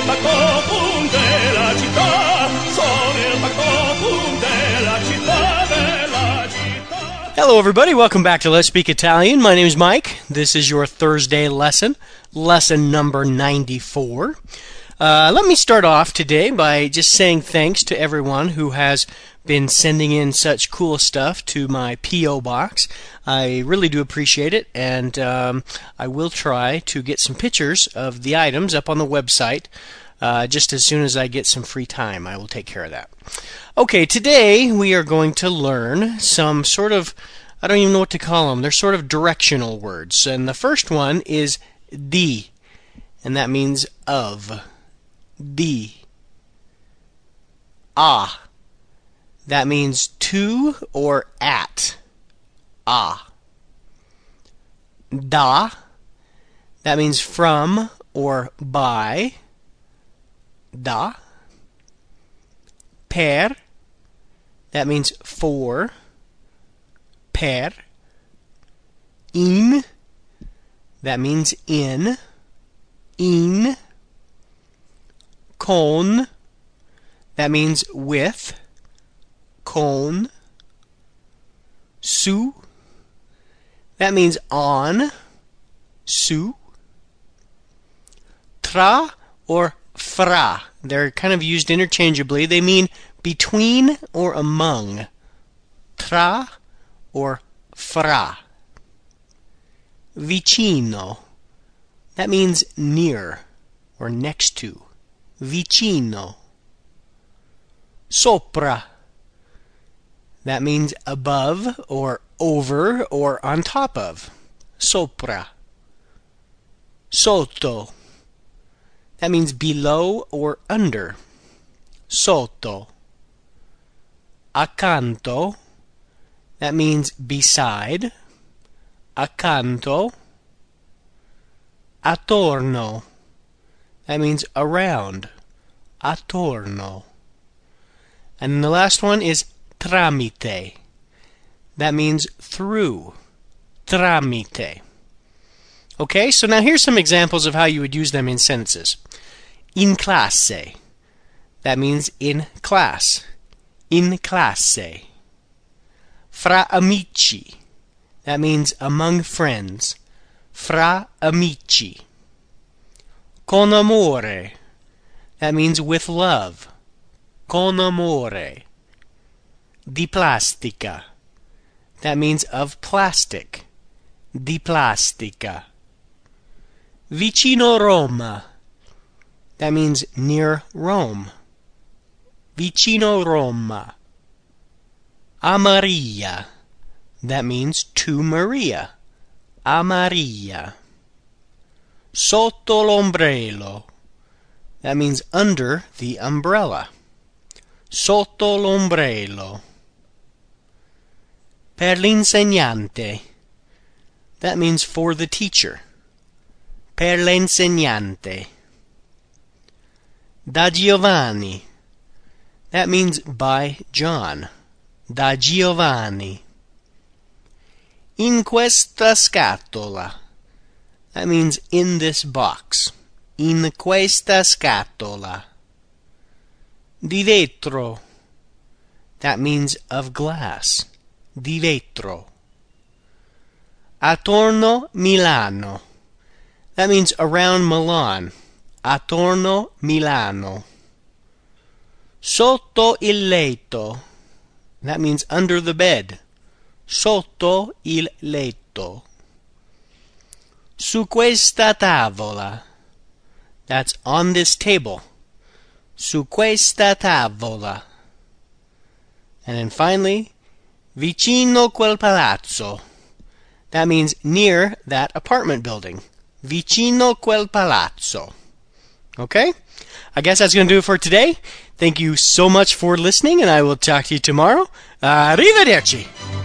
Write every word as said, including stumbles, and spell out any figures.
il factotum della città, sono il factotum della città, della città. Hello everybody, welcome back to Let's Speak Italian. My name is Mike. This is your Thursday lesson, lesson number ninety-four. Uh, let me start off today by just saying thanks to everyone who has been sending in such cool stuff to my P O box. I really do appreciate it, and um, I will try to get some pictures of the items up on the website uh, just as soon as I get some free time. I will take care of that. Okay, today we are going to learn some sort of, I don't even know what to call them, they're sort of directional words. And the first one is di, and that means of. Di. Ah. That means to or at. Ah. Da. That means from or by. Da. Per. That means for. Per. In. That means in. In. Con. That means with. Con. Su. That means on. Su. Tra or fra. They're kind of used interchangeably. They mean between or among. Tra or fra. Vicino. That means near or next to. Vicino. Sopra. That means above or over or on top of. Sopra. Sotto. That means below or under. Sotto. Accanto. That means beside. Accanto. Attorno. That means around. Attorno. And the last one is tramite. That means through. Tramite. Okay, so now here's some examples of how you would use them in sentences. In classe. That means in class. In classe. Fra amici. That means among friends. Fra amici. Con amore. That means with love. Con amore. Di plastica. That means of plastic. Di plastica. Vicino Roma. That means near Rome. Vicino Roma. A Maria. That means to Maria. A Maria. Sotto l'ombrello. That means under the umbrella. Sotto l'ombrello. Per l'insegnante. That means for the teacher. Per l'insegnante. Da Giovanni. That means by John. Da Giovanni. In questa scatola. That means in this box. In questa scatola. Di vetro. That means of glass. Di vetro. Attorno Milano. That means around Milan. Attorno Milano. Sotto il letto. That means under the bed. Sotto il letto. Su questa tavola. That's on this table. Su questa tavola. And then finally, vicino quel palazzo. That means near that apartment building. Vicino quel palazzo. Okay? I guess that's going to do it for today. Thank you so much for listening, and I will talk to you tomorrow. Arrivederci!